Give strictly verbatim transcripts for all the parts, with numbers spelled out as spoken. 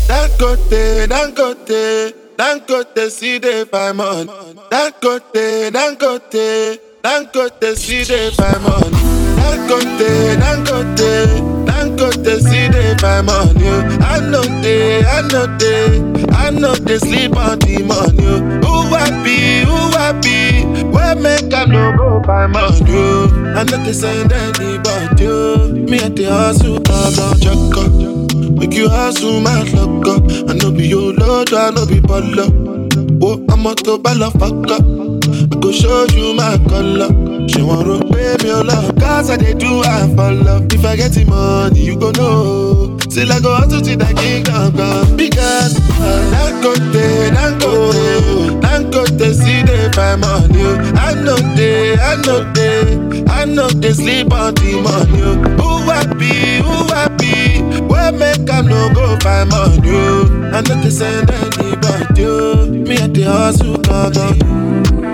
Dangote, Dangote, Dangote, see the find money. Dangote, Dangote, Dangote, see the find money. Dangote, Dangote, Dangote, see the find money. I know they, I know they, I know they sleep on the money. Who happy, who happy, where make I no go find money? I know they send anybody. Me at the hustle, I'm on check up. Make you hustle, my luck up. I know be your lord, I know be baller. Oh, I'm a to baller, fuck up. I go show you my color. She wanna pay me a lot, cause I they do I for love. If I get the money, you gon' know. Still I go out to the kingdom come. Because Dangote, Dangote, Dangote, see they find money. I know they, I know they, I know they sleep on the money. Who happy, who happy, where make I no go find money? I know they send anybody. Me at the hustle, come on.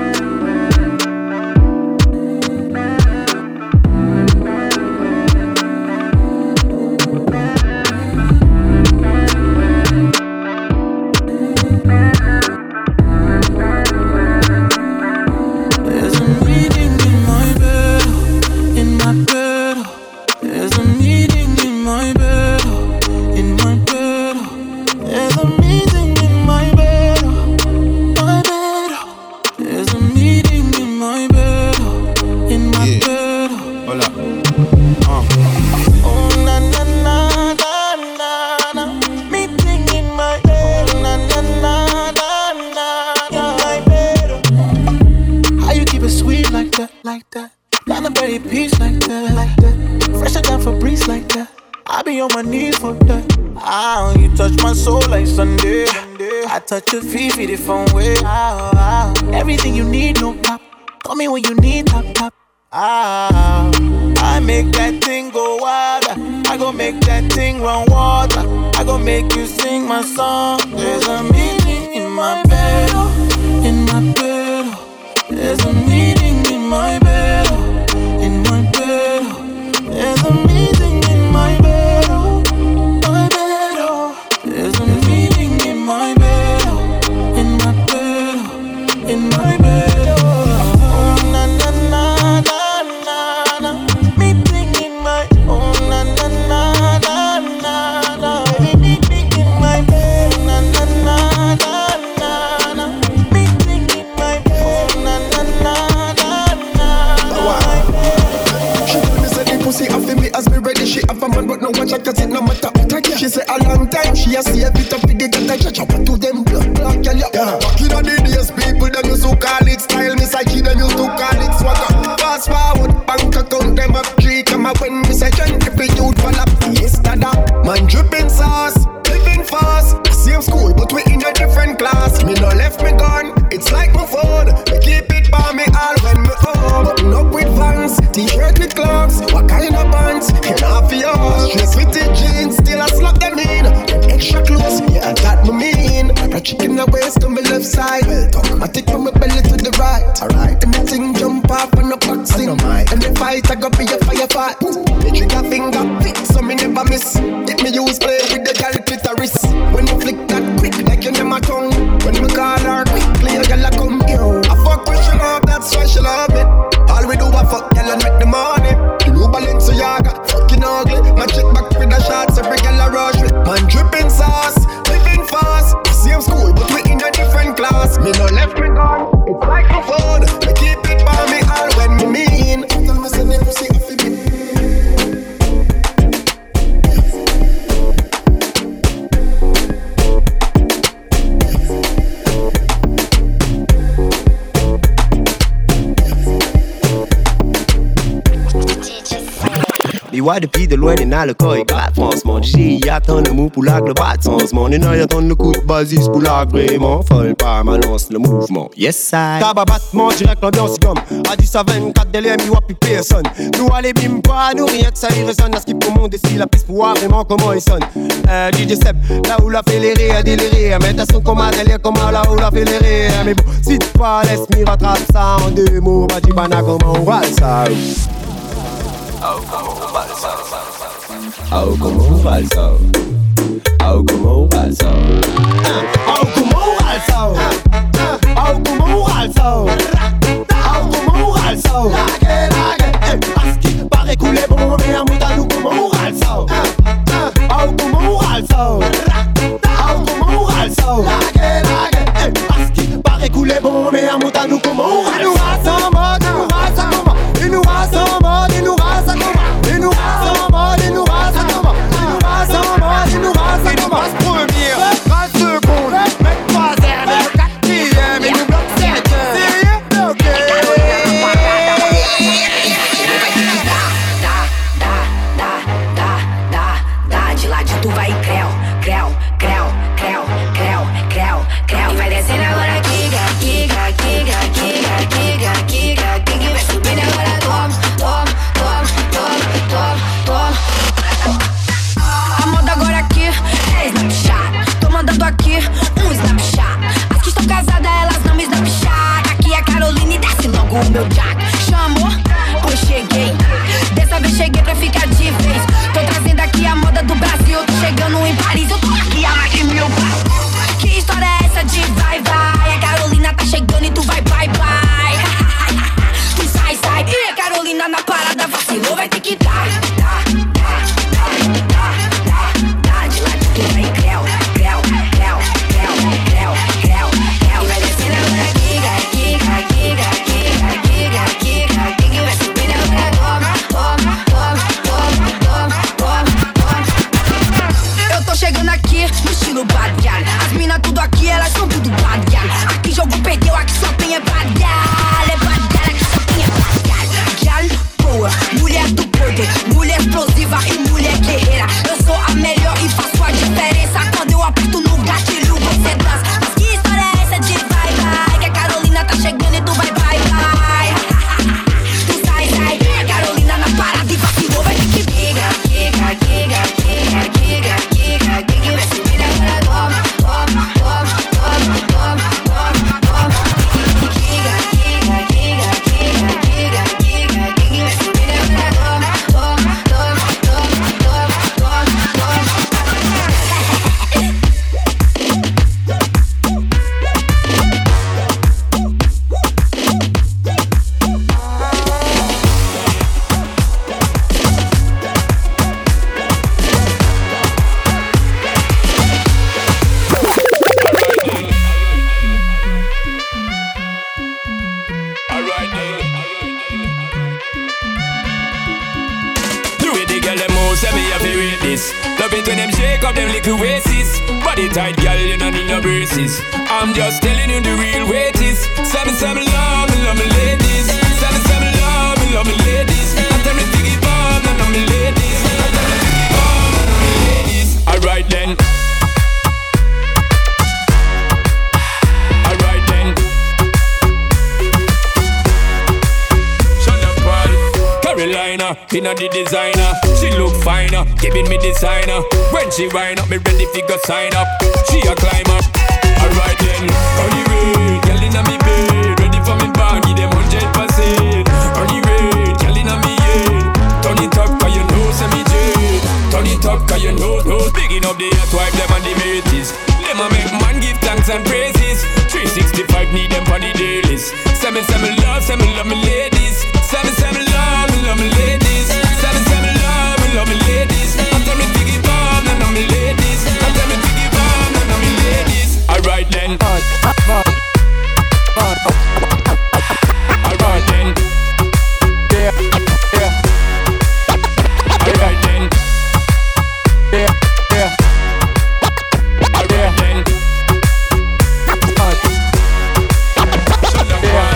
Touch your feet, feed it from way. Oh, oh. Everything you need, no pop. Call me when you need top, top. Ah, oh. I make that thing go wild. I go make that thing run water. I go make you sing my song. There's a meaning in my bed, in my bed. There's a meaning in my bed, in my bed. There's a meaning in my bed, my bed. There's a meaning in my bed. In my bed, oh, na na na na na na. Me thinking my, oh na na na na na na. Me thinking my bed, na na na na na na. Me thinking my bed, na na na na na. She told me say the pussy off me as me ready. She have a man but no one check 'cause it no matter what I get. She say a long time she a see a bit of the get a judge up to them blood clot girl. Yeah, back in the days people them used to call it style. Me say them used to call it swagger. Fast forward bank account them up three come up when me say John every youth fall up. Yes dada, man dripping sauce, living fast. Same school but we in a different class. Me no left me gone, it's like my phone. Me keep it by me all when me home. Button up with Vans, t-shirt with clocks. What kind of pants? And half of yours. Dress with the jeans, still I slap them in. Them extra close, yeah that me mean. Like a chicken a waist to my left side. Well talk, I take from my belly to the right. Alright, anything jump off and a boxing. And the fight I go be a firefight. The trigger finger fit, so me never miss. Get me use play with the girl clitoris. When you flick that quick, like you never tongue. When me call her quickly, a girl a come here. I fuck with she love, that's why she love me. All we do a fuck girl and make the money. The new Balenciaga, fucking ugly. My chick back with the shots, every girl a rush with. Man dripping sauce, living fast. Same school, but we in a different class. Me no left me gone, it's like my phone. Me keep it by me all when me mean. Tell me say never see off it. Les Y depuis de loin, les dans le cas éclate franchement. J'ai attend le mot pour la globale changement. Les nains attendent le coup de basis pour la vraiment. Folle pas ma lance le mouvement. Yes I. Tabac battement direct l'ambiance comme à dix à vingt-quatre délai mi wa plus personne. Nous allez bim pas nous rien que ça y résonne. À ce qui pour mon décide la piste pour voir vraiment comment il sonne. Euh, D J Seb là où la fait les rires déliré. Mais t'as son comme un délire comme là où la fait les rires. Mais bon si tu pas laisse m'y rattrape ça en deux mots. Bah tu bana comment on va ça. Oh, comment on va ça? Oh, comment on va ça? Oh, comment on va ça? creu, creu, creu, creu, creu, creu. E vai descendo agora, quica, quica, quica, quica, quica, quica, quica. E vai subindo agora, toma, toma, toma, toma, toma, toma. A moda agora aqui é Snapchat. Tô mandando aqui um Snapchat. As que estão casadas, elas não me Snapchat. Aqui é Carolina e desce logo o meu jack. Chamou, pois cheguei. Dessa vez cheguei pra ficar de vez. Tô trazendo aqui a moda do Brasil. Tô chegando em Paris, eu tô aqui há mais de mil. Que história é essa de vai, vai? A Carolina tá chegando e tu vai, vai, vai. Tu sai, sai. E a Carolina na parada vacilou, vai ter que dar. Dá, dá, dá, dá, dá, dá. De lá de tu vai, creu, creu, creu, creu, creu, creu, creu. E vai descendo agora, giga, giga, giga, giga, giga, giga, giga. E vai subindo agora, toma, toma, toma, toma, toma, toma. Eu tô chegando aqui no estilo bad girl. As mina tudo aqui, elas são tudo bad girl. Aqui jogo perdeu, aqui só tem é bad girl. É bad girl, aqui só tem é bad girl. Girl boa, mulher do poder, mulher explosiva e mulher guerreira. Eu sou a melhor e faço a diferença. Quando eu aperto no gatilho, você dança. Mas que história é essa de vai, vai? Que a Carolina tá chegando e tu vai, vai, vai. Tu sai, sai. A Carolina na parada e vacilou, vai ter que giga, giga, giga, giga, giga, giga, giga. Vai subir agora, toma, toma, toma, toma, toma, toma. Giga, giga, giga, giga, giga, giga, giga. Vai subir agora, toma, toma, toma, toma, toma, toma. The way the girl them move, say me have to rate this. Love it when them shake up them little waists. Body tight, girl, you don't need no braces. I'm just telling you the real way it is. Say me, say me love me, love me ladies. Say me, say me love me, love me ladies. I tell me to give up, no, no, me ladies. I tell me to give up, no, no, me ladies. Alright then. Alright then. Shut up, boy. Carolina, inna the designer. She look finer, giving me designer. When she wind up, me ready fi go sign up. She a climber. Alright then. On the way, girl inna me bed, ready for me bag, give them hundred percent. On the way, girl inna me head. Turn it up 'cause you know say me jet. Turn it up 'cause you know, know. Bigging up the hot wife, them and the mateys. Them a make man give thanks and praises. three sixty-five need them for the dailies. Say me, say me love, say me love me ladies. Say me, say me love, me love me ladies. Say me, say me love, me love me ladies. I tell me to give up, no, no, me ladies. I tell me to give up, no, no, me ladies. Alright then. Alright then. Yeah, yeah. Alright then. Yeah, yeah. Alright then. Shut up, man.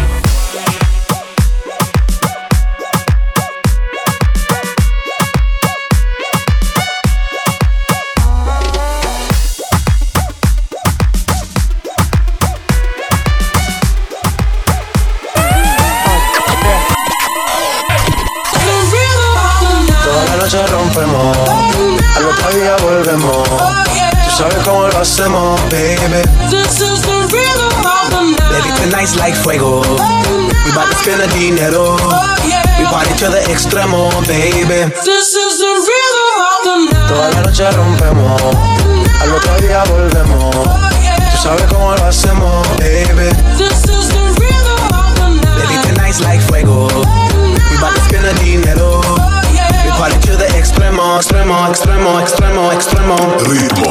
Noche rompemos, al otro día volvemos. Tú sabes cómo lo hacemos, baby. This is the rhythm of the night. Baby, tonight's like fuego. We bout to spend the dinero. We party to the extremo, baby. This is the rhythm of the night. Toda la noche rompemos, al otro día volvemos. Tú sabes cómo lo hacemos, baby. This is the rhythm of the night. Baby, tonight's like fuego. We bout to spend the dinero. We party to the extremo, extremo, extremo, extremo, extremo. Ritmo.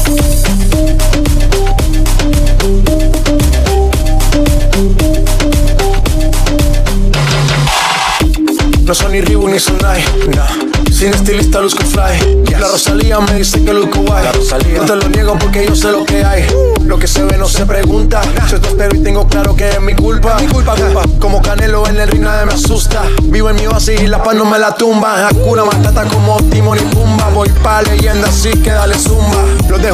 No son ni Reebok ni Sonai, nah. Sin estilista luzco fly, yes. La Rosalía me dice que luzco guay. No te lo niego porque yo sé lo que hay. Lo que se ve no se pregunta. Nah. Yo te espero y tengo claro que es mi culpa. Mi culpa, culpa. Como Canelo en el ring nadie me asusta. Vivo en mi oasis y la paz no me la tumba. Hakuna Matata como Timon y Pumba. Voy pa' leyenda así que dale zumba. Los de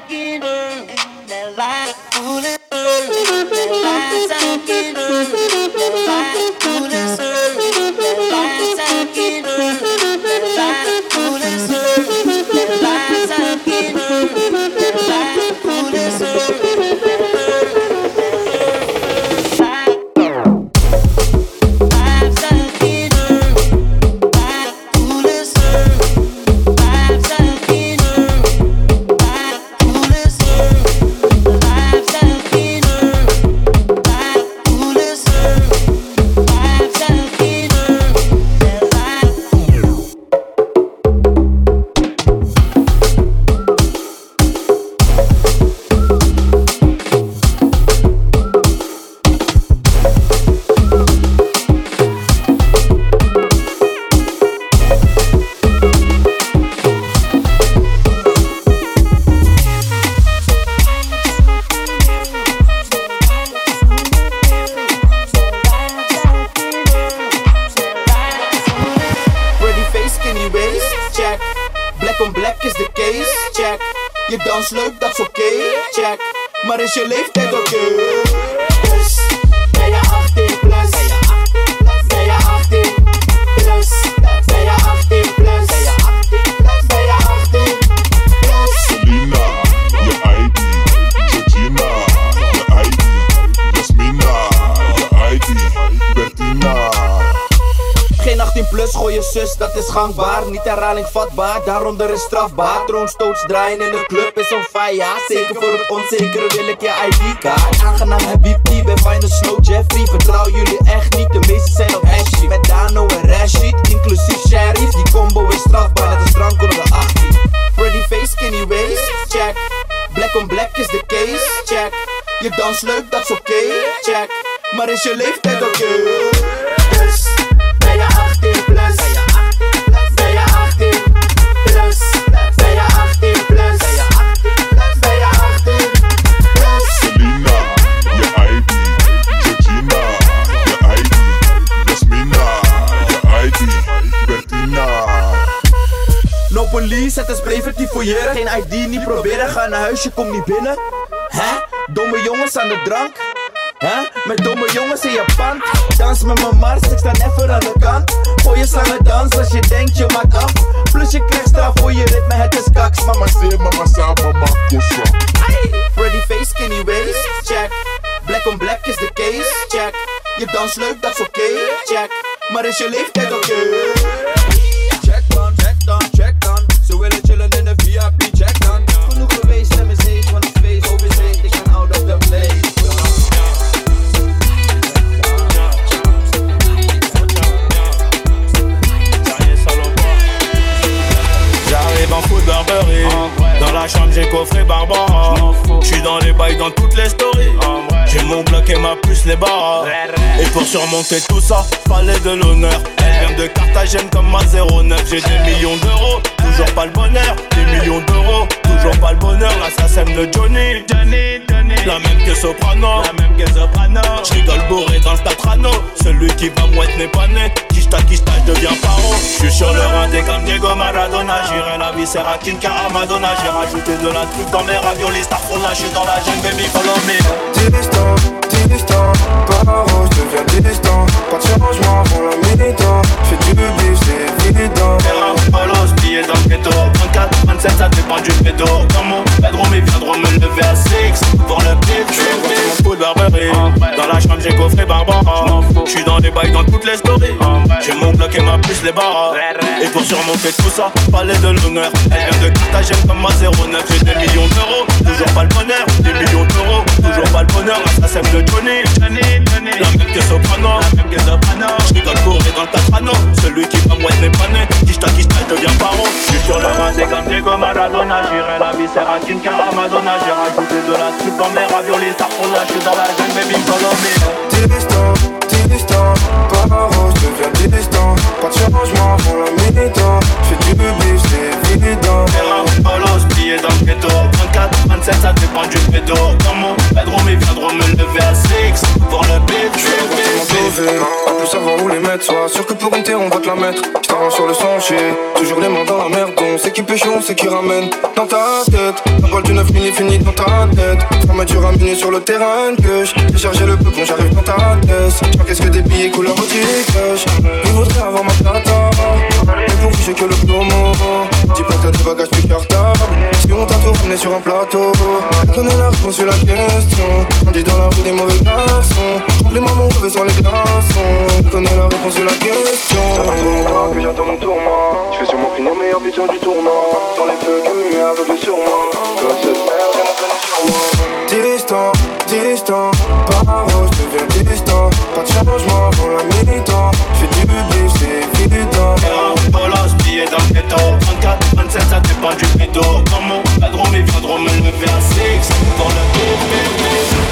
aquí, the light fooling, the lights aquí, the light fooling, the lights aquí, the light fooling, the lights aquí, the light fooling. Je dans leuk, dat is oké, okay, check. Maar is je leeftijd oké? Okay? Dus ben je achttien plus? Ben je achttien plus? Ben je achttien plus? Ben je achttien plus? Selena, je I D. Georgina, je I D. Jasmina, je I D. Bertina. Geen achttien plus, gooi je zus, dat is gangbaar. Niet herhaling vatbaar, daaronder is strafbaar. Troonstoots draaien in de club is on fire. Zeker voor het onzekere wil ik je I D-kaart. Aangenaam Habibti, ben fijn de Snow Jeffrey. Vertrouw jullie echt niet, de meeste zijn op hashie. Met Dano en Rashid, inclusief Sheriff. Die combo is strafbaar, net als drank onder de achttien. Pretty face, skinny waist, check. Black on black is de case, check. Je dans leuk, dat is oké, okay, check. Maar is je leeftijd oké? Okay? Dus ben je achttien plus? Ben je achttien plus? Ben je achttien plus? Ben je achttien plus? Selena, je I D. Georgina, je I D. Jasmina, je I D. Bertina. No police, het is preventief fouilleren. Geen I D, niet proberen, ga naar huis, je komt niet binnen. Hè? Domme jongens aan de drank. Huh? Met domme jongens in je pand. Dans met mijn mars, ik sta even aan de kant. Gooi je slangen dans als je denkt je maakt af. Plus je krijgt straf voor je ritme, het is kaks. Mama say, mama sa, mama kosa. Pretty face, skinny waist, check. Black on black is de case, check. Je dans leuk, dat is oké, okay, check. Maar is je leeftijd oké? Okay? Check dan, check dan, check dan. Ze willen chillen in de V I P, check dan. Genoeg geweest, stem is heet, want het feest over is heet. Ik ben out of the place. J'arrive en foot Burberry. Dans la chambre j'ai coffré Barbara. J'suis dans les bails dans toutes les stories. J'ai mon bloc et ma puce les barres. Et pour surmonter tout ça, fallait de l'honneur. Elle vient de Carthagène comme ma zéro neuf. J'ai des millions d'euros, toujours pas le bonheur. Des millions d'euros, toujours pas le bonheur. L'assassin de Johnny, Johnny, Johnny. La même que Soprano, la même que Soprano. J'rigole bourré dans le Tatrano. Celui qui va mouette n'est pas né. Kishta, kishta, je deviens paro. J'suis sur le rinté comme Diego Maradona. J'irai la viscéra Kinka Madonna. J'ai rajouté de la truc dans mes raviolis. Starfall, là j'suis dans la jungle, baby, follow me. Distant, distant, paro, j'deviens distant. Pas de changement pour la militant. J'fais du bif, c'est évident. Terrain, bolos, billets dans le ghetto. vingt-quatre, vingt-sept, ça dépend du pédo. Dans mon bedroom, ils viendront me lever à six. Pour le beat, j'suis mon foot Burberry. Dans la chambre, j'ai coffré Barbara. J'suis dans les bails dans toutes les stories. J'ai mon bloc et ma puce les barres. Et pour surmonter tout ça, fallait de l'honneur. Elle vient de Carthagène comme ma zéro neuf. J'ai des millions d'euros, toujours pas le bonheur. Des millions d'euros, toujours pas le bonheur. L'assassin de Johnny, Johnny, Johnny. La même que Soprano, la même que Soprano. J'rigole bourré dans le Tatrano. Celui qui va mouette n'est pas né. Kishta, kishta, je deviens paro. J'suis sur le rinté comme Diego Maradona. J'irai la viscéra Kinka Madonna. J'ai rajouté de la soupe dans mes raviolis. Starfall, là j'suis dans la jungle, baby, follow me. Distant, distant, paro, j'deviens distant. Pas de changement pour la militant. J'fais du bif, c'est évident. Terrain, bolos, billets dans le ghetto. vingt-quatre, vingt-sept, ça dépend du pédo. Dans mon bedroom, ils viendront me lever à six. Pour le beat, j'suis En plus savoir où les mettre. mettre. Sois sûr que pour une terre on va te la mettre. J't'arrange sur le sentier, toujours les mains dans la merde. On sait qui pêche, on sait qui ramène. Dans ta tête, la balle du neuf mille finit dans ta tête. Ça m'a dû ramener sur le terrain que j'ai chargé le peu quand j'arrive dans ta tête. Qu'est-ce que des billets couleur au tic-tac. Il voudrait avoir ma plata, mais pour vous j'ai que le promo. Dis pas que t'as des bagages plus cartables. Si on t'a tout ramené sur un plateau, je connais la réponse sur la question. On dit dans la rue des mauvais garçons. Les mamans revêt sur les glaçons. Je connais la réponse sur la question. Ça fait trop longtemps que j'attends mon tournoi. Je fais sûrement finir meilleur buteur du tournoi. Dans les feux comme une aveugle sur moi. Comme se perd, j'ai mon planning sur moi. Distant, distant, par où je deviens distant. Pas de changement avant la mi-temps. J'fais du bif, c'est évident. Et on balance, billet dans le ghetto. vingt-quatre, vingt-sept, ça dépend du pédo. Comment la drôme, ils viendront me lever à six. Dans le bif,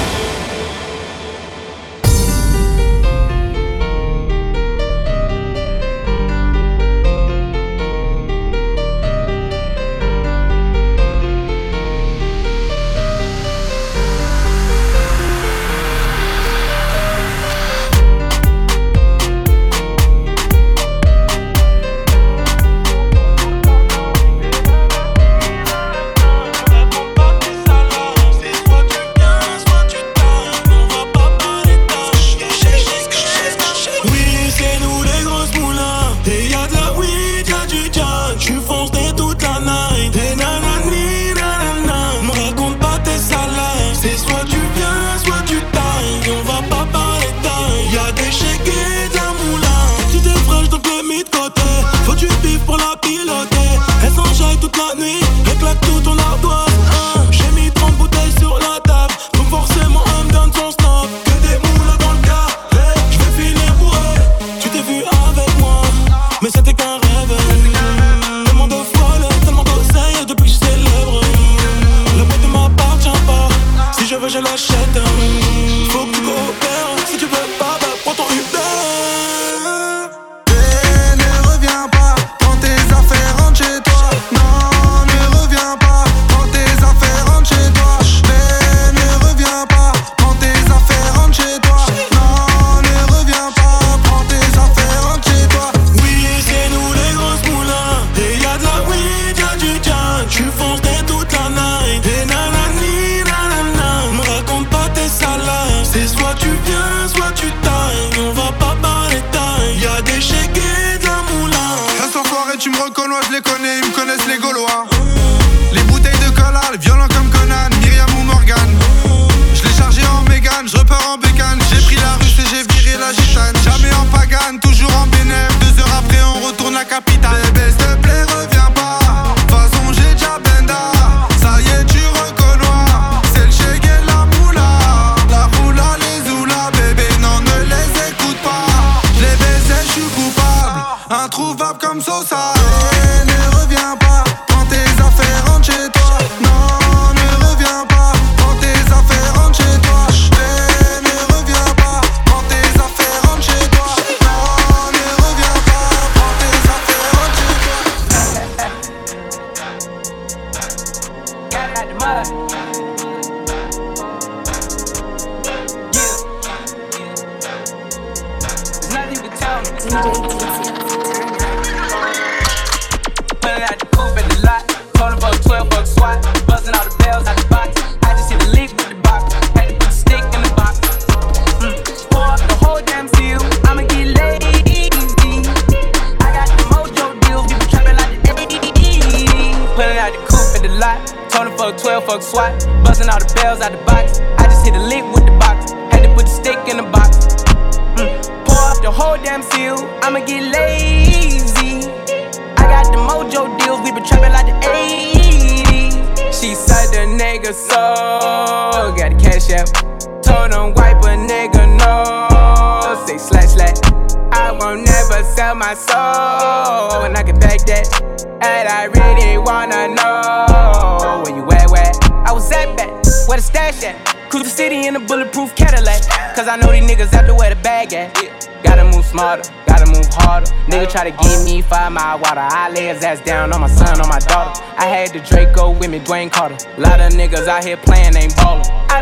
try to give me five mile water. I lay his ass down on my son, on my daughter. I had the Draco with me, Dwayne Carter. A lot of niggas out here playing, ain't ballin'. I done put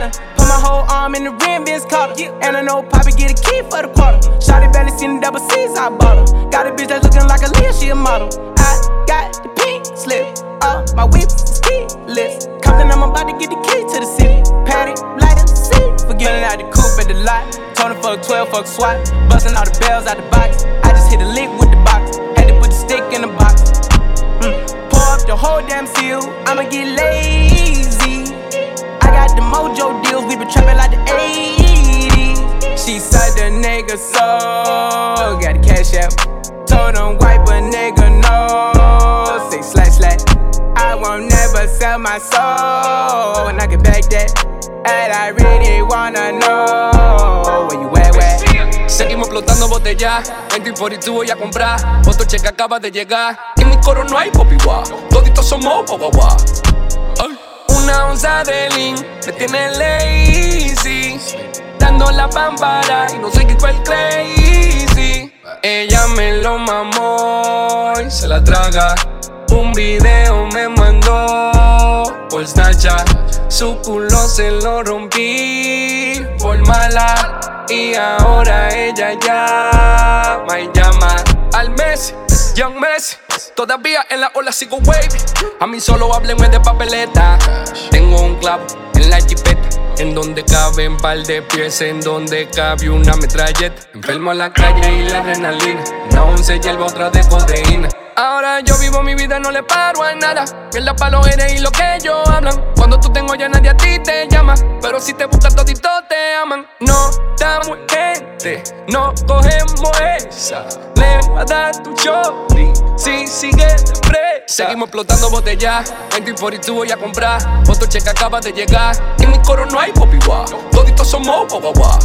my whole arm in the rim, Vince Carter. And I know Poppy get a key for the quarter. Shawty barely seen the double C's, I bought her. Got a bitch that's looking like a Leah, she a model. I got the pink slip, uh, my whip is keyless. Compton, I'm about to get the key to the city. Patty, light up the city. Forgetting out the coupe at the lot. Tony fuck twelve, fuck SWAT. Busting all the bells out the box. I just hit a lick with the box. Had to put the stick in the box. Mm. Pour up the whole damn seal. I'ma get lazy. I got the mojo deals. We been trapping like the eighties. She said the nigga so. Got the cash out. Told him wipe a nigga no. Say slash slash. I won't never sell my soul. And I can back that. And I really wanna know where you at, where? Seguimos explotando botellas. veinte por y tú voy a comprar. Otro cheque acaba de llegar. En mi coro no hay popi guá. Toditos somos guá guá. Una onza de lean me tiene lazy. Dando la pámpara y no sé qué fue el crazy. Ella me lo mamó y se la traga. Un video me mandó por Snapchat. Su culo se lo rompí por mala. Y ahora ella llama y llama al Messi, Young Messi. Todavía en la ola sigo wavy. A mí solo háblenme de papeleta. Tengo un club en la jipeta, en donde caben par de pies, en donde cabe una metralleta. Enfermo a la calle y la adrenalina. Una once hierba, otra de codeína. Ahora yo vivo mi vida, no le paro a nada. Mierda pa' los eres y lo que ellos hablan. Cuando tú tengo ya nadie a ti te llama. Pero si te buscan toditos te aman. No damos gente, no cogemos esa. Le va a dar tu shorty si sigue de presa. Seguimos explotando botellas. veinte por y tú voy a comprar. Otro cheque acaba de llegar. En mi coro no hay popi guá. Toditos somos guá guá.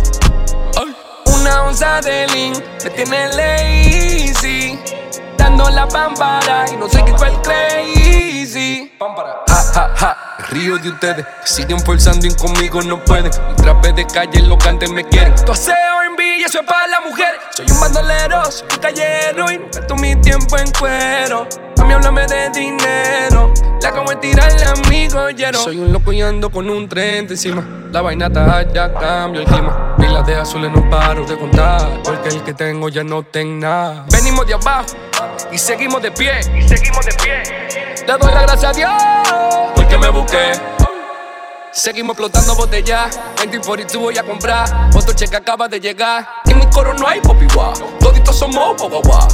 Una onza de lean me tiene lazy. Dando la pámpara y no sé qué fue el crazy. Ja, ja, ja, río de ustedes que siguen forzando y conmigo no pueden. Mi trape de calle, los cantes me quieren. Tu aseo en B y eso es para las mujeres. Soy un bandolero, soy un callero y no gasto mi tiempo en cuero. A mí háblame de dinero, la como es tirarle amigo lleno. Soy un loco y ando con un tren encima. La vaina está ya cambio el clima. Pilas de azules no paro de contar, porque el que tengo ya no tengo nada. Venimos de abajo y seguimos de pie, y seguimos de pie. Le doy la gracia a Dios porque me busqué. Seguimos explotando botellas. veinte por y tú voy a comprar. Otro cheque acaba de llegar. En mi coro no hay popi guá. Toditos somos guá guá.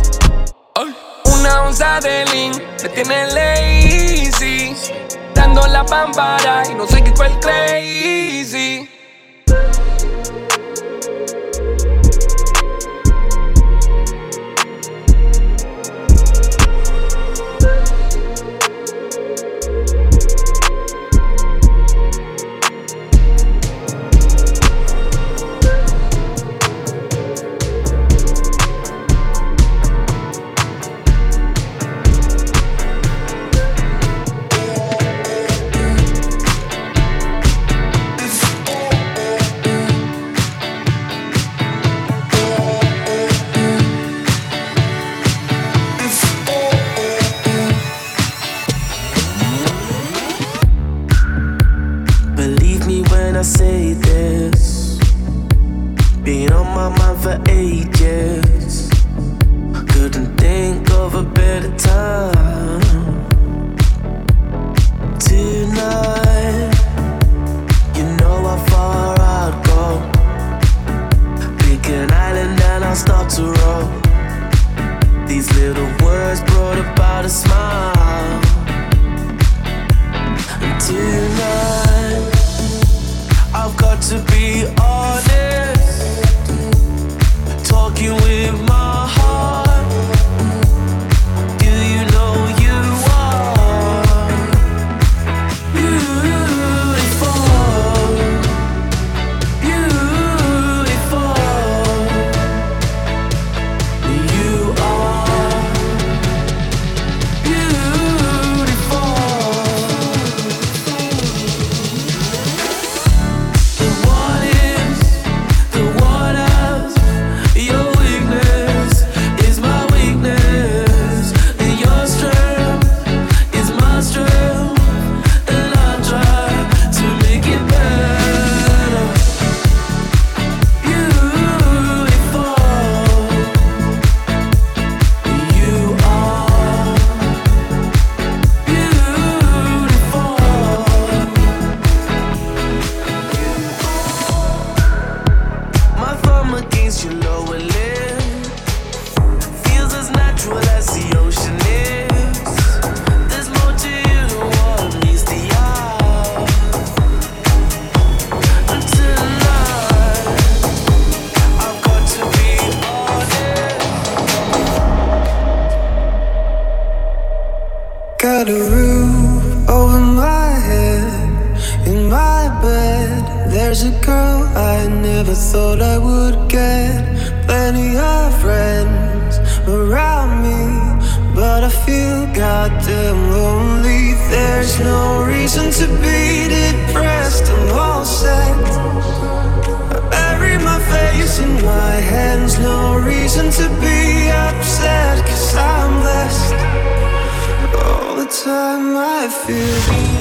Una onza de lean me tiene lazy. Dando la pámpara y no sé qué fue el crazy. I say this, been on my mind for ages. Couldn't think of a better time. Tonight, you know how far I'd go. Pick an island and I'll start to roll. These little words brought about a smile. And tonight, I've got to be honest, talking with my heart. Do you know you are beautiful, beautiful. You are beautiful. got a roof over my head. In my bed, there's a girl I never thought I would get. Plenty of friends around me, but I feel goddamn lonely. There's no reason to be depressed, I'm all set. I bury my face in my hands, no reason to be upset, cause I'm blessed. All the time I feel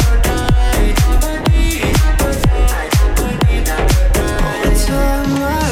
all the time I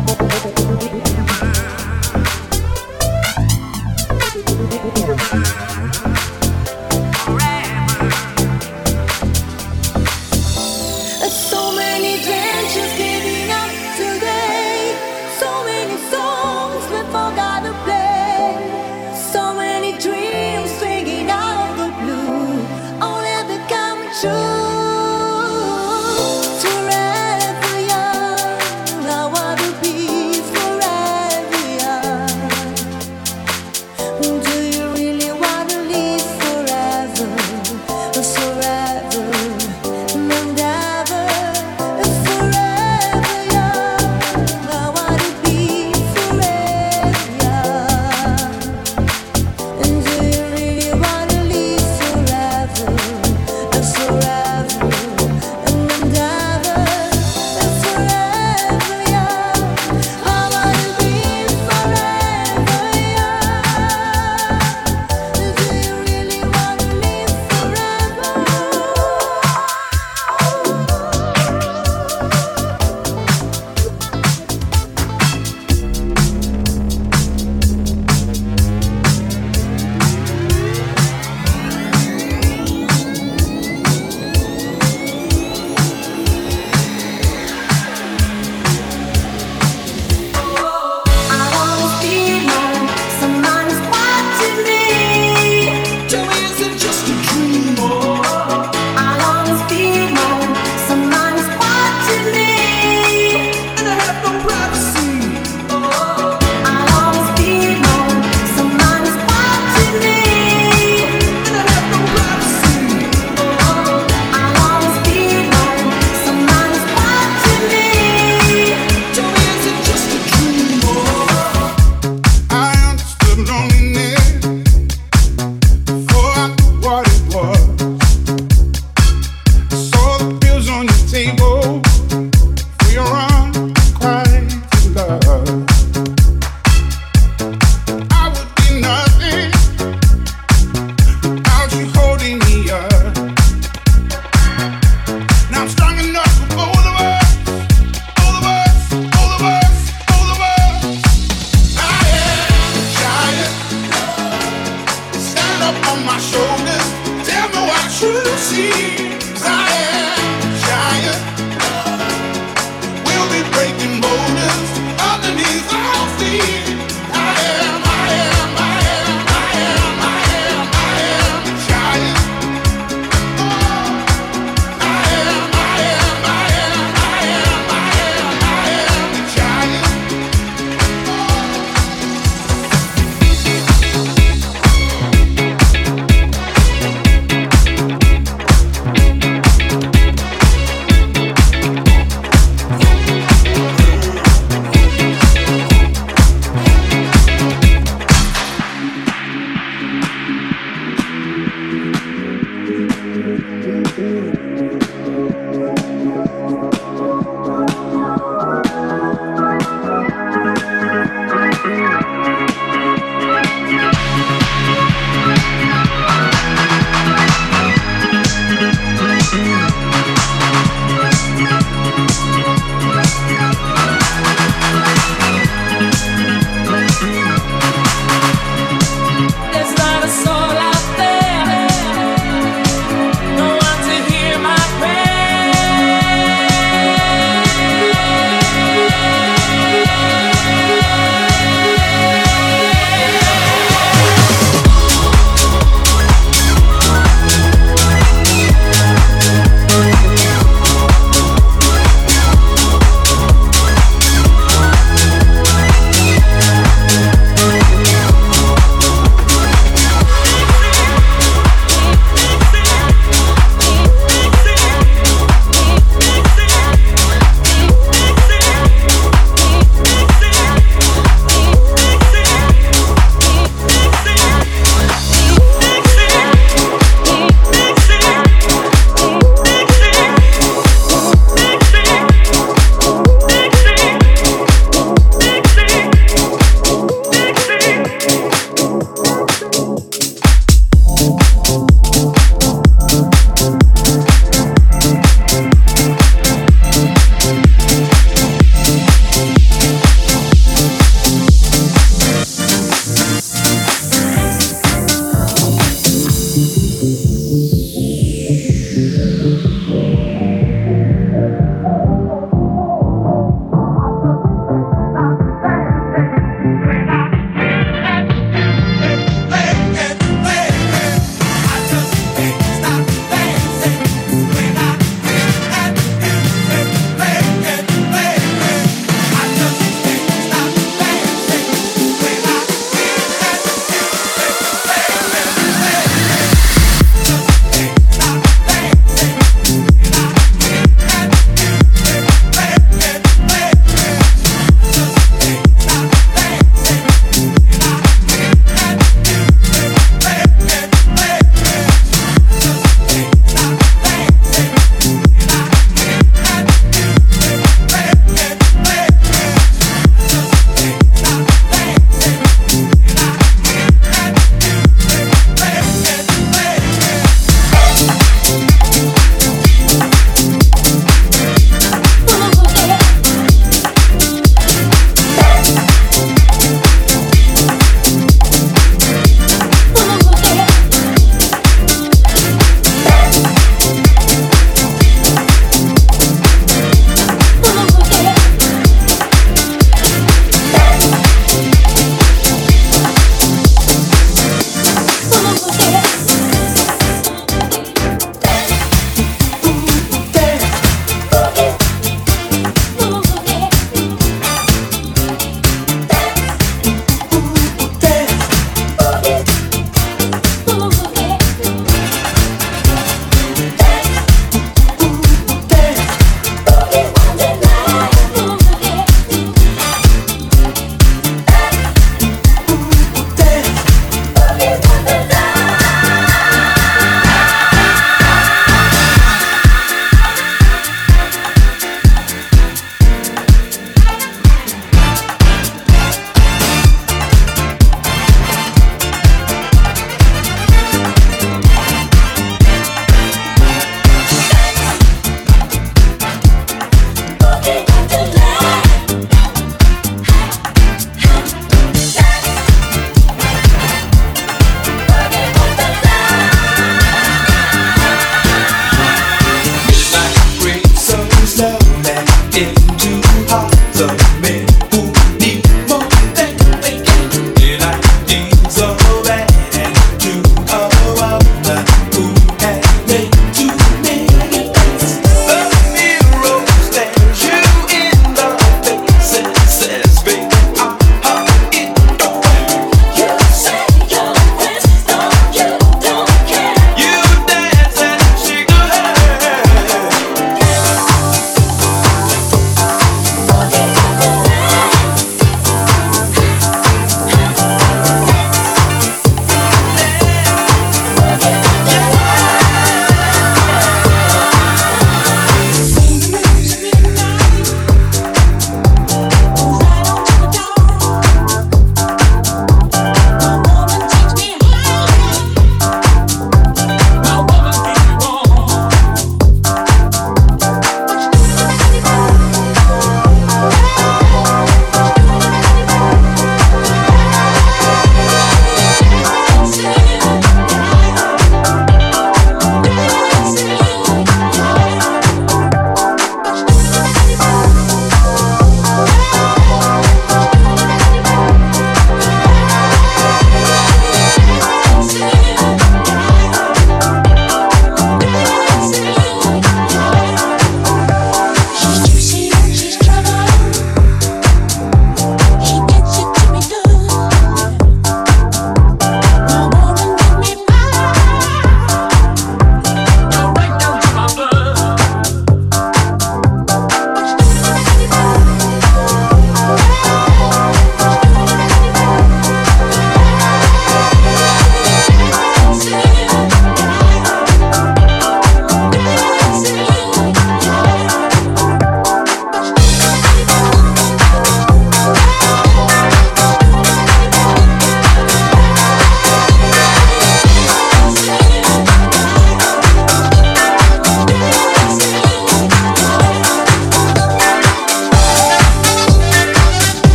Forever young, I wanna be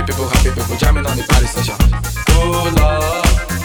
people, happy people jamming on the party session. Oh Lord.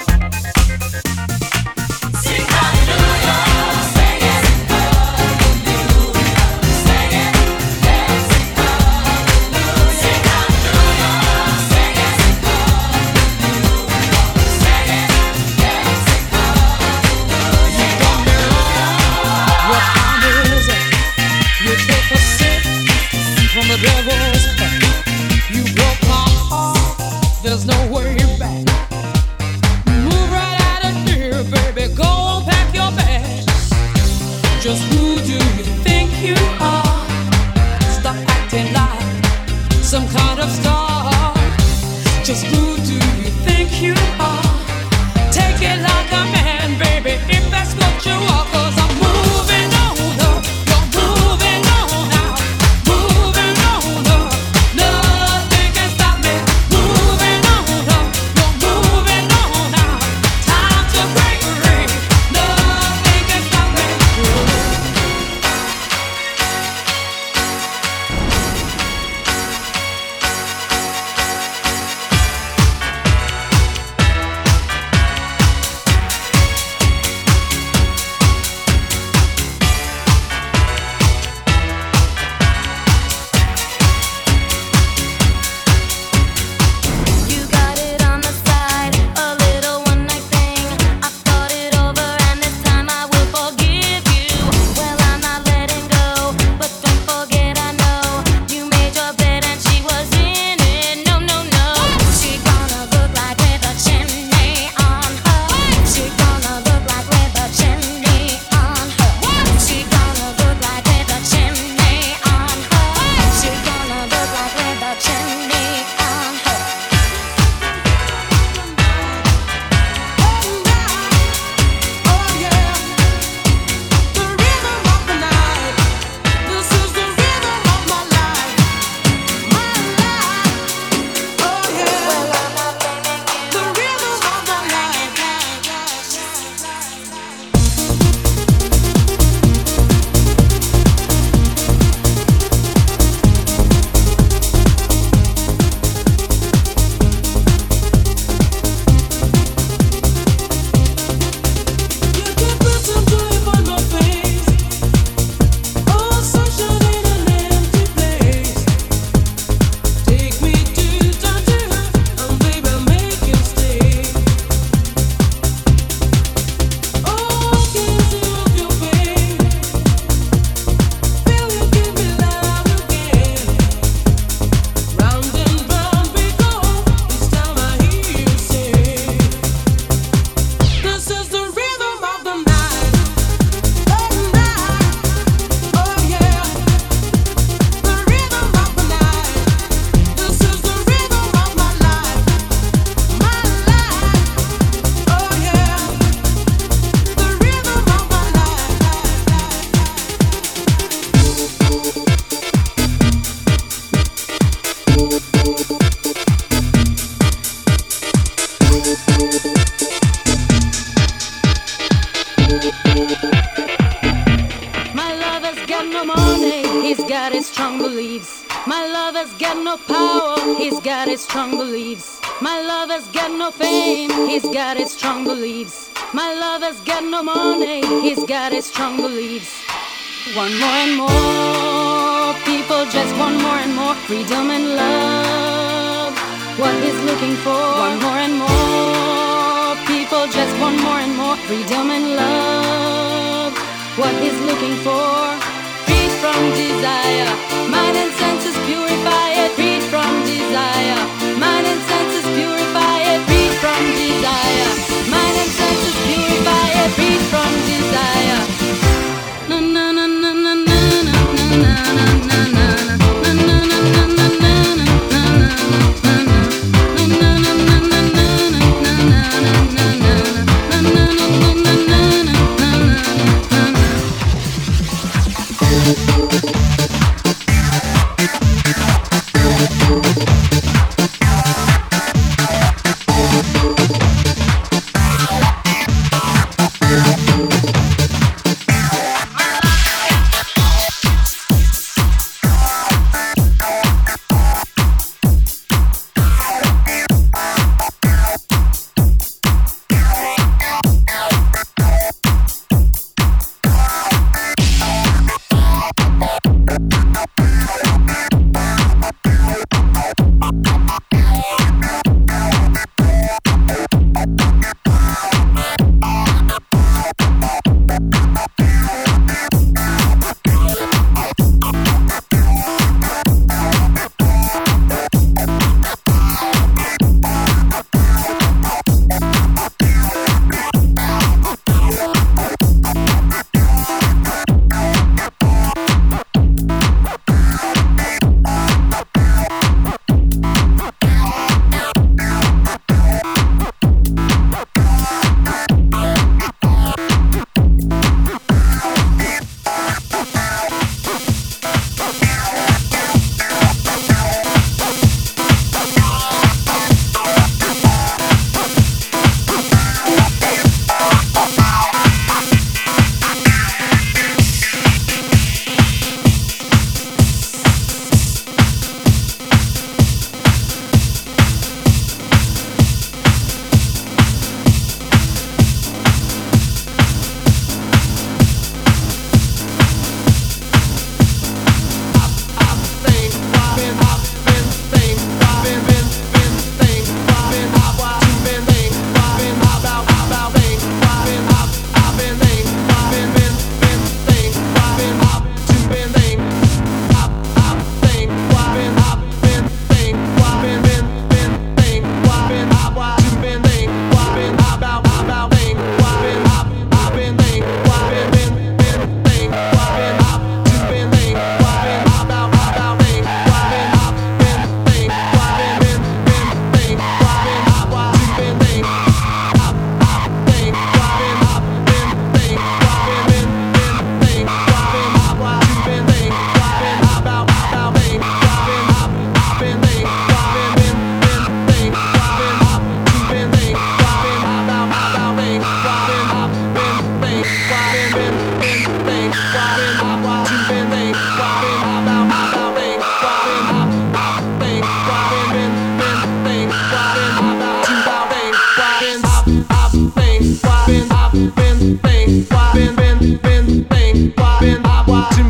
Sing hallelujah, sing it, hallelujah, sing it, let's sing hallelujah, sing hallelujah, sing it, hallelujah, sing it, let's sing hallelujah. You got me wrong, your arm is up, you take a sip from the devil's cup. You broke my heart, there's no way back. Move right out of here, baby, go pack your bags. Just who do you think you are? Stop acting like some kind of star. Just who do you think you are? Take it like a man, baby, if that's what you are. Cause I'm moving on up, you're moving on out, moving on up. Nothing can stop me. Moving on up, you're moving on out. Time to break free. Nothing can stop me. You got it on the side, a little one night thing. I thought it over and this time I will forgive you. Well, I'm not letting go, but don't forget I know you made your bed and she was in it. No, no, no. She gonna look like with a chimney on her. She gonna look like with a chimney on her. She gonna look like with a chimney on her. She gonna look like with a chimney on her. My lover's got no money, he's got his strong beliefs. My lover's got no power, he's got his strong beliefs. My lover's got no fame, he's got his strong beliefs. My lover's got no money, he's got his strong beliefs. One more and more people just want more and more freedom and love. What he's looking for. One more and more people just want more and more freedom and love. What he's looking for. Freed from desire, mind and senses purify it. Freed from desire, mind and senses purify it. Freed from desire, mind and senses purify it. Freed from desire. Na na na na na na na na na na na.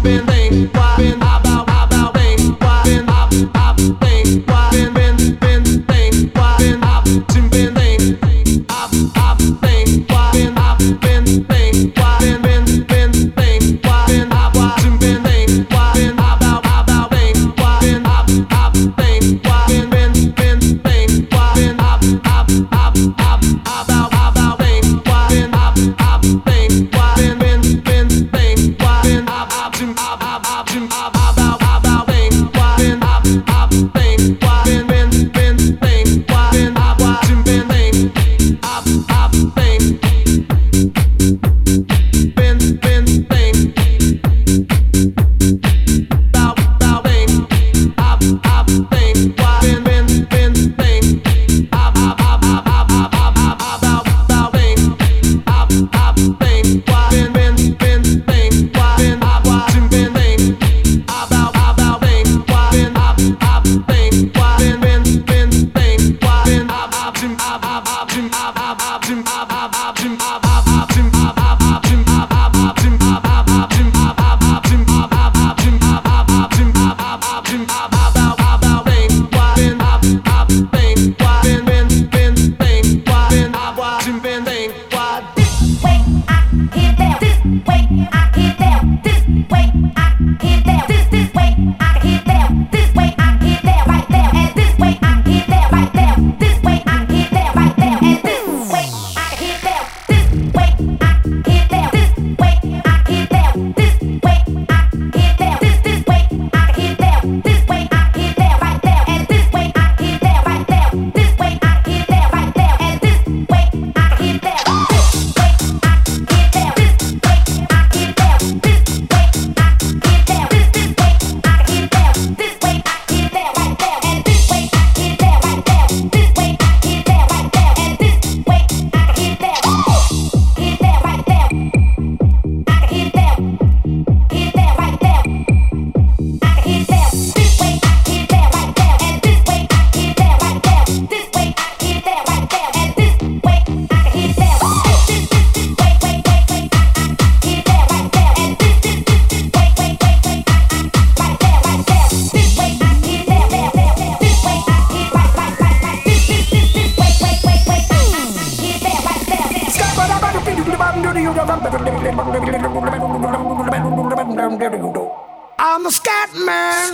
I'm the scat man.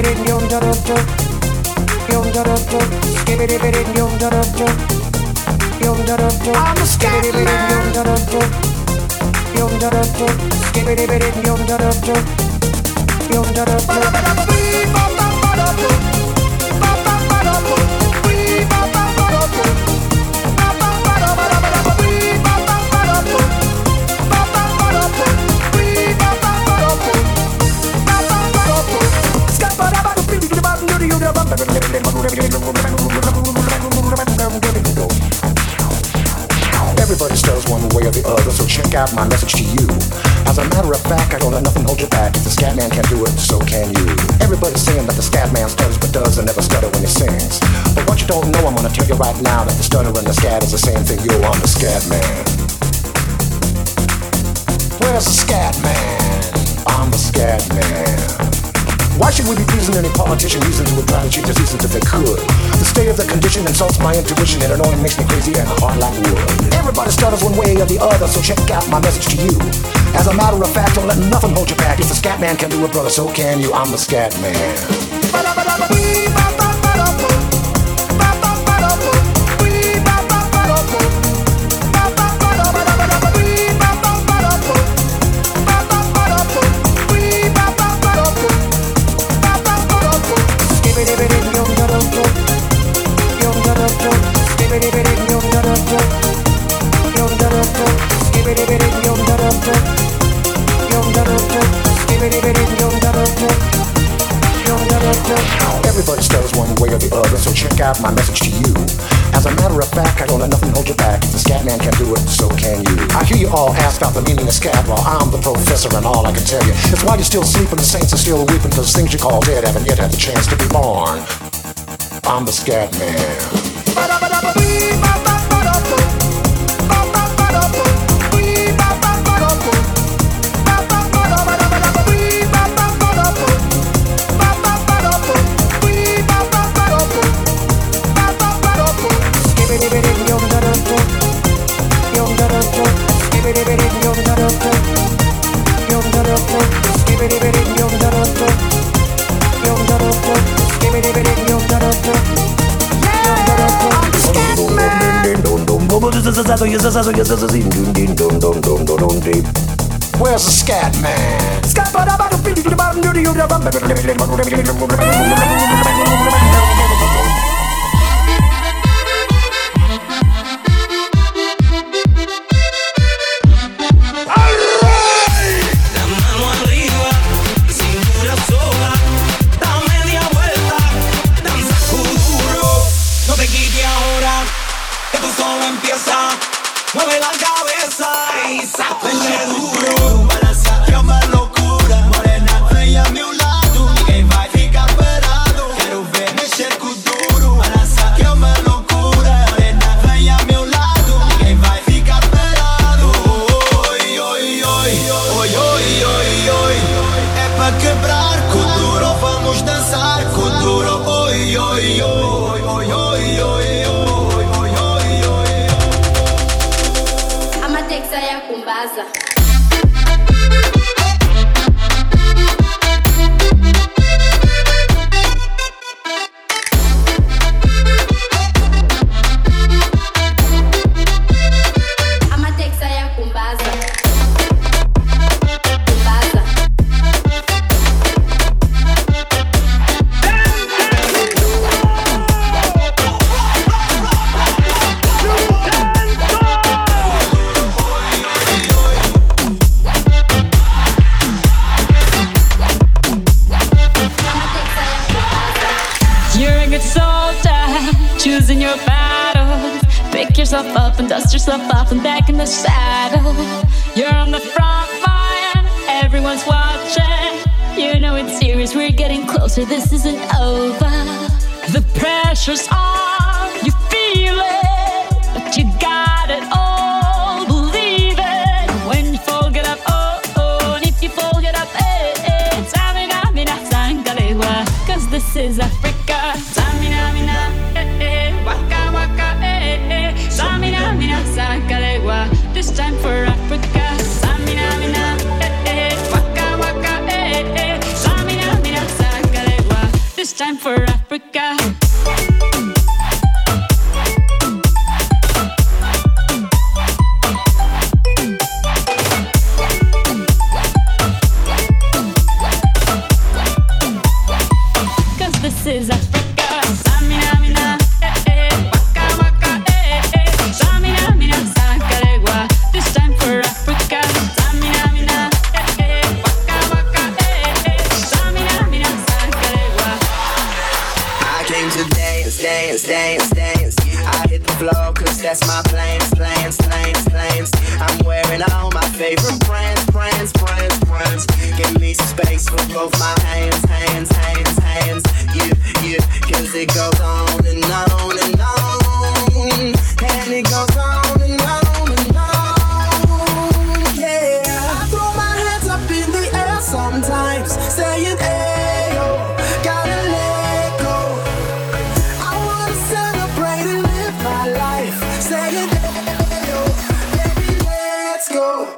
I'm the scat Everybody stutters one way or the other, so check out my message to you. As a matter of fact, I don't let nothing hold you back. If the scat man can do it, so can you. Everybody's saying that the scat man stutters but does and never stutter when he sings. But what you don't know, I'm gonna tell you right now that the stutter and the scat is the same thing. Yo, I'm the scat man. Where's the scat man? I'm the scat man. Why should we be pleasing any politician using to try to cheat diseases if they could? The state of the condition insults my intuition and it only makes me crazy and hard like wood. Everybody stutters one way or the other, so check out my message to you. As a matter of fact, don't let nothing hold you back. If the scat man can do it, brother, so can you. I'm the scat man. Everybody stutters one way or the other, so check out my message to you. As a matter of fact, I don't let nothing hold you back. If the scat man can do it, so can you. I hear you all ask about the meaning of scat, well, I'm the professor and all I can tell you is why you're still sleeping, the saints are still weeping, cause things you call dead haven't yet had the chance to be born. I'm the scat man. Where's the scat man? Mueve la cabeza y sáquenle duro. Que más locura, morena, vem a meu lado. Ninguém vai ficar parado. Quero ver mexer com duro. Que mais loucura, morena, vem a meu lado. Ninguém vai ficar parado. Oi, oi, oi, oi, oi, oi, oi. É pra quebrar com duro. Vamos dançar com duro. Oi, oi, oi, oi, oi, oi, oi. Saia com baza. I'ma take saia com baza. Com baza. Choosing your battles. Pick yourself up and dust yourself off and back in the saddle. You're on the front line, everyone's watching. You know it's serious, we're getting closer, this isn't over. The pressure's on, you feel it, but you got it all, believe it. When you fall, get up, oh, oh, and if you fall, get up, eh, eh. Tamina, mina, sangalewa, cause this is Africa. Tamina, mina, eh, eh, waka, waka, eh, eh. Tamina, mina, sangalewa, this time for Africa. Tamina, mina, eh, eh, waka, waka, eh, eh. Tamina, mina, sangalewa, this time for Africa. This is Africa. Samina, mina, eh, eh, waka, waka, eh, eh. Samina, mina, sangalewa. This time for Africa. Samina, mina, eh, eh, waka, waka, eh, eh. Samina, mina, sangalewa. I came to dance, dance, dance, dance. I hit the floor cause that's my plans, plans, plans, plans. I'm wearing all my favorite brands, brands, brands, brands. Give me some space for both my hands, hands, hands, hands. Yeah, yeah, cause it goes on and on and on. And it goes on and on and on. Yeah, I throw my hands up in the air sometimes, saying, ayo, gotta let go. I wanna celebrate and live my life, saying, ayo, baby, let's go.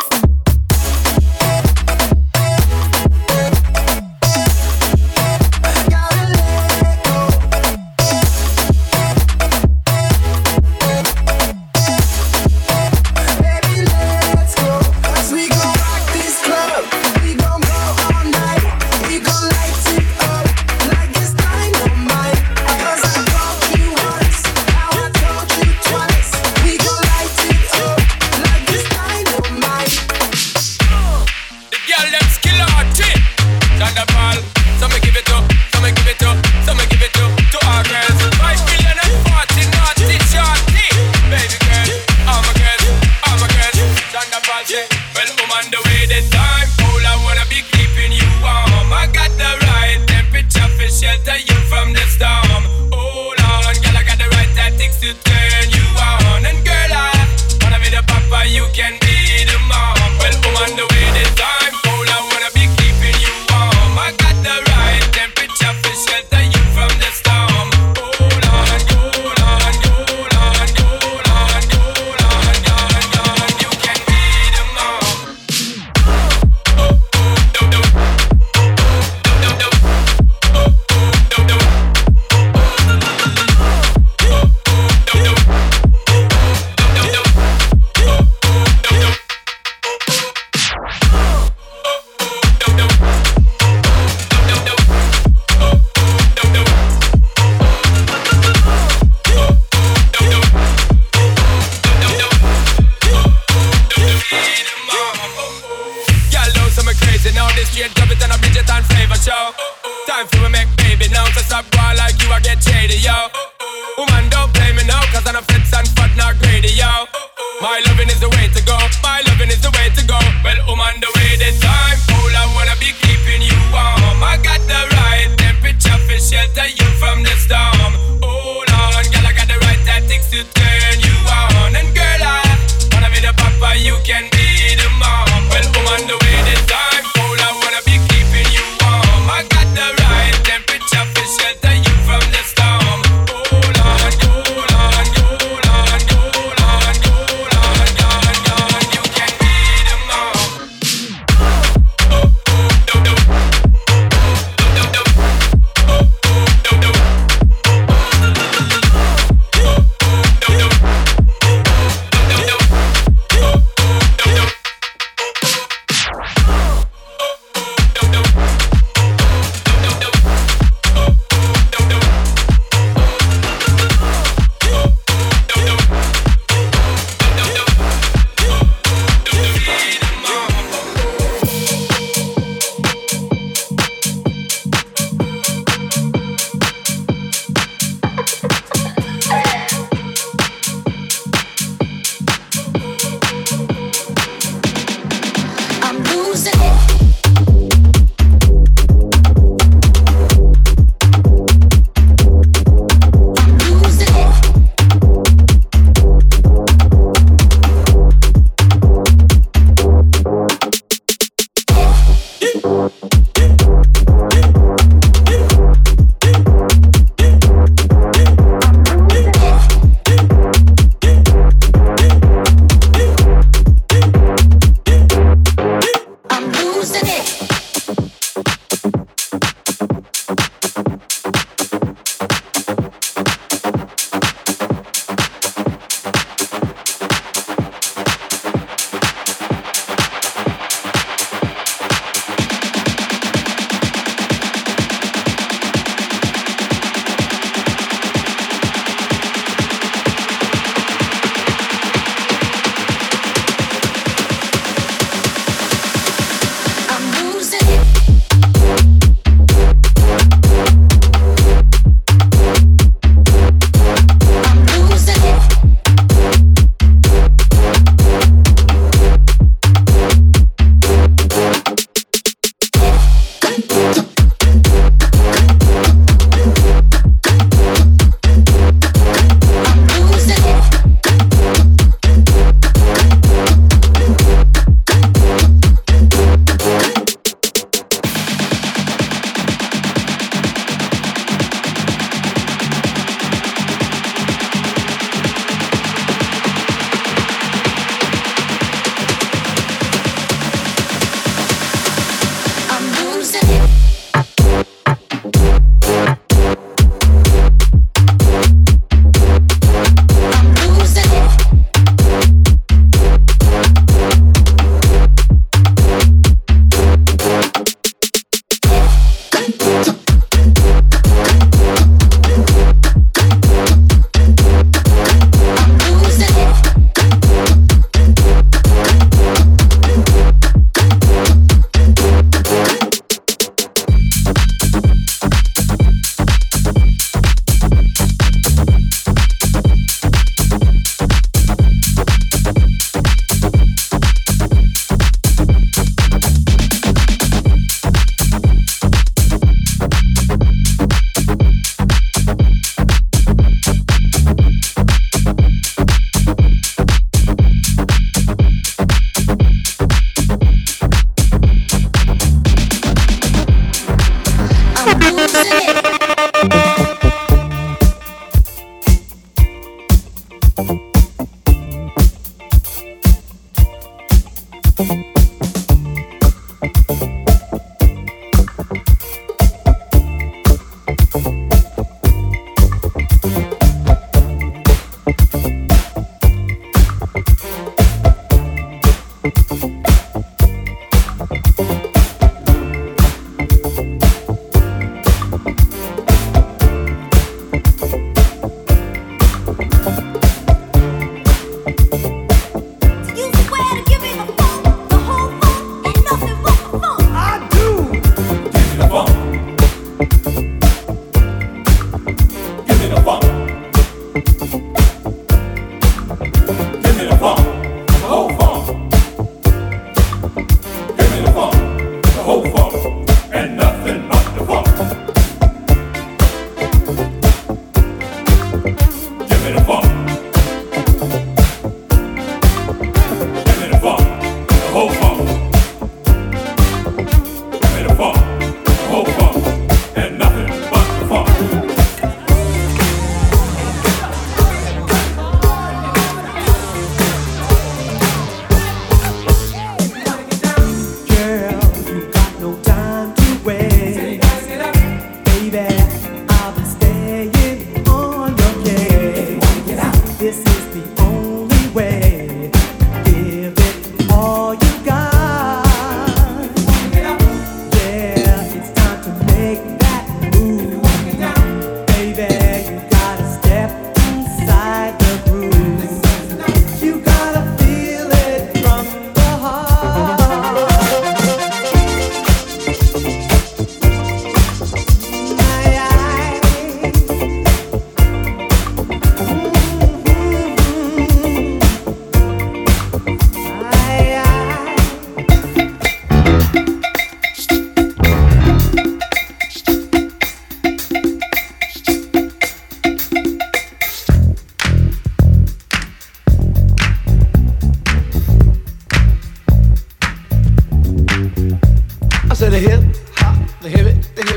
and flavor show. Time for we make baby now. So stop going like you, I get shady, yo. Woman, don't play me now, cause I'm a fits and fat, not greedy, yo. My loving is the way to go, my loving is the way to go. Well, woman, the way this time, all I wanna be keeping you warm. I got the right temperature for shelter you from the storm. Hold on, girl, I got the right tactics to turn you on. And girl, I wanna be the papa, you can be the mom. Well, woman, the way this time, all I wanna be keeping you warm. I got the right temperature for shelter you from the storm. Hold on, hold on, hold on, hold on, hold on, hold on, you can be the mom.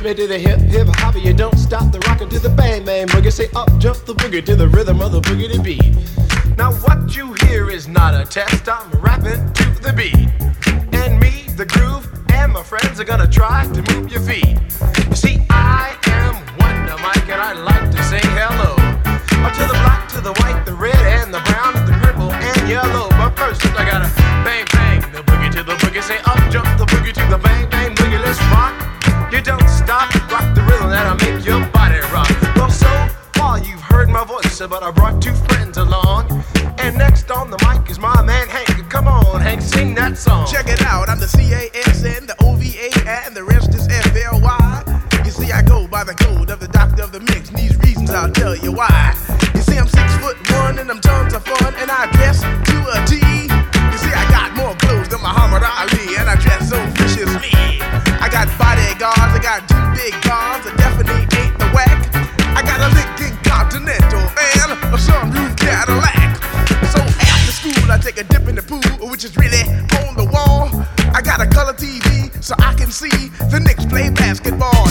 hippie to the hip, hip hopper, you don't stop the rockin' to the bang bang boogie. Say up jump the boogie to the rhythm of the boogie to beat. Now what you hear is not a test, I'm rapping to the beat. And me, the groove, and my friends are gonna try to move your feet. You see, I am Wonder Mike and I like to say hello. To the black, to the white, the red, and the brown, the purple, and yellow. But first I gotta bang bang the boogie to the boogie. Say up jump the boogie to the bang bang boogie. Let's rock. You don't stop, rock the rhythm that'll make your body rock. Well, so far you've heard my voice, but I brought two friends along. And next on the mic is my man Hank. Come on, Hank, sing that song. Check it out, I'm the C A S N, the O V A, and the rest is F L Y. You see, I go by the code of the doctor of the mix, and these reasons I'll tell you why. You see, I'm six foot one, and I'm tons of fun, and I dress to a T. You see, I got more clothes than Muhammad Ali, and I dress so viciously. I got bodyguards, I got two big cars, I definitely ain't the whack. I got a Lincoln Continental and a sunroof Cadillac. So after school, I take a dip in the pool, which is really on the wall. I got a color T V, so I can see the Knicks play basketball.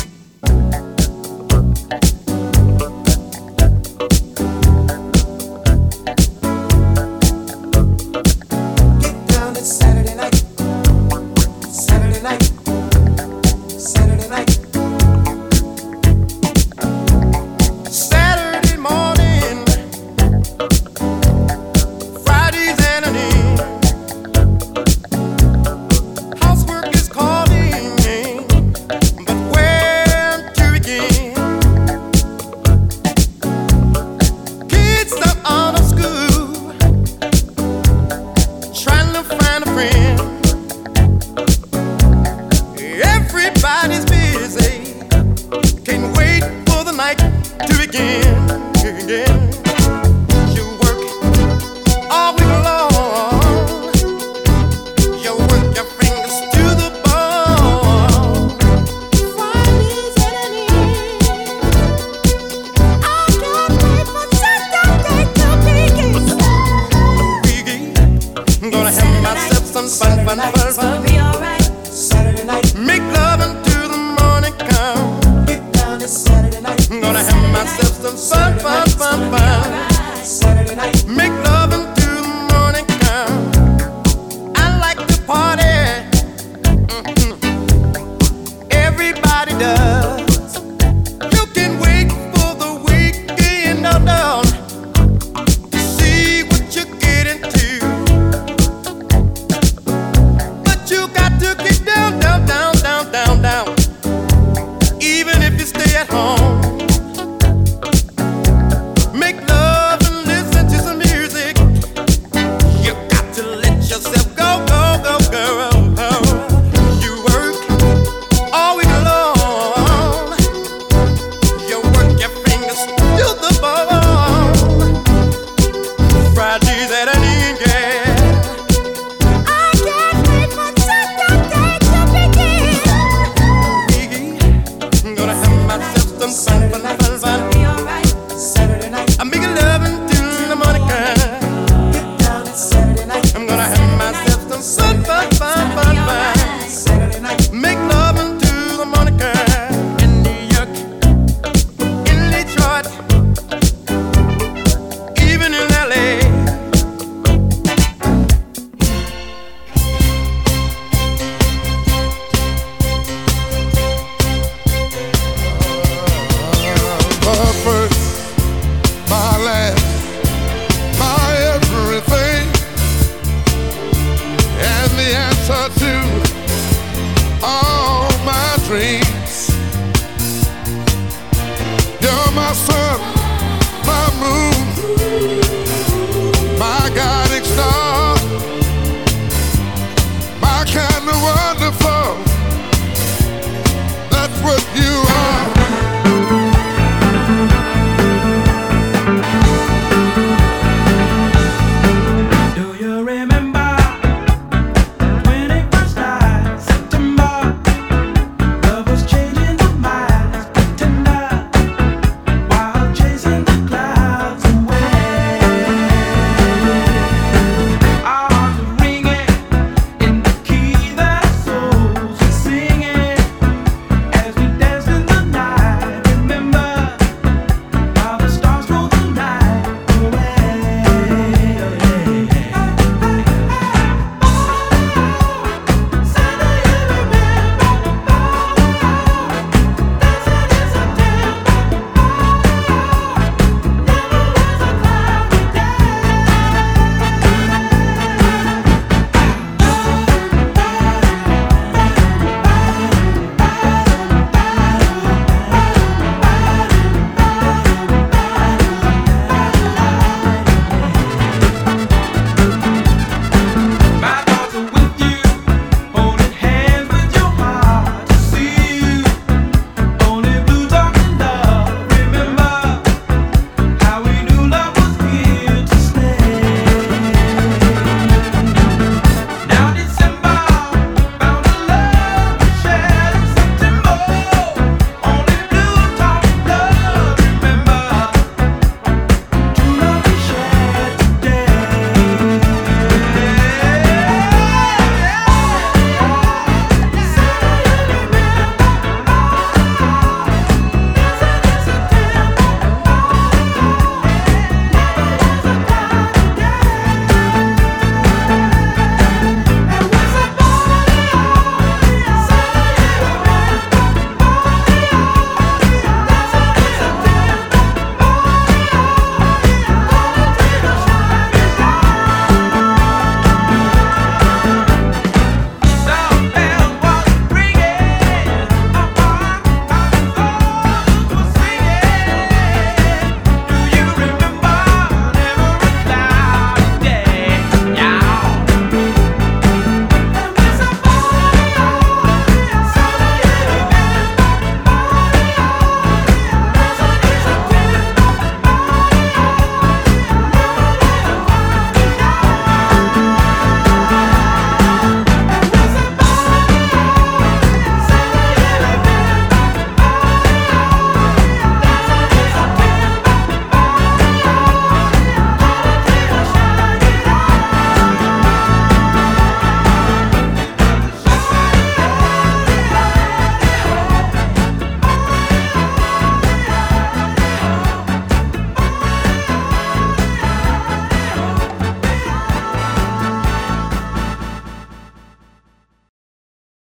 Everybody does.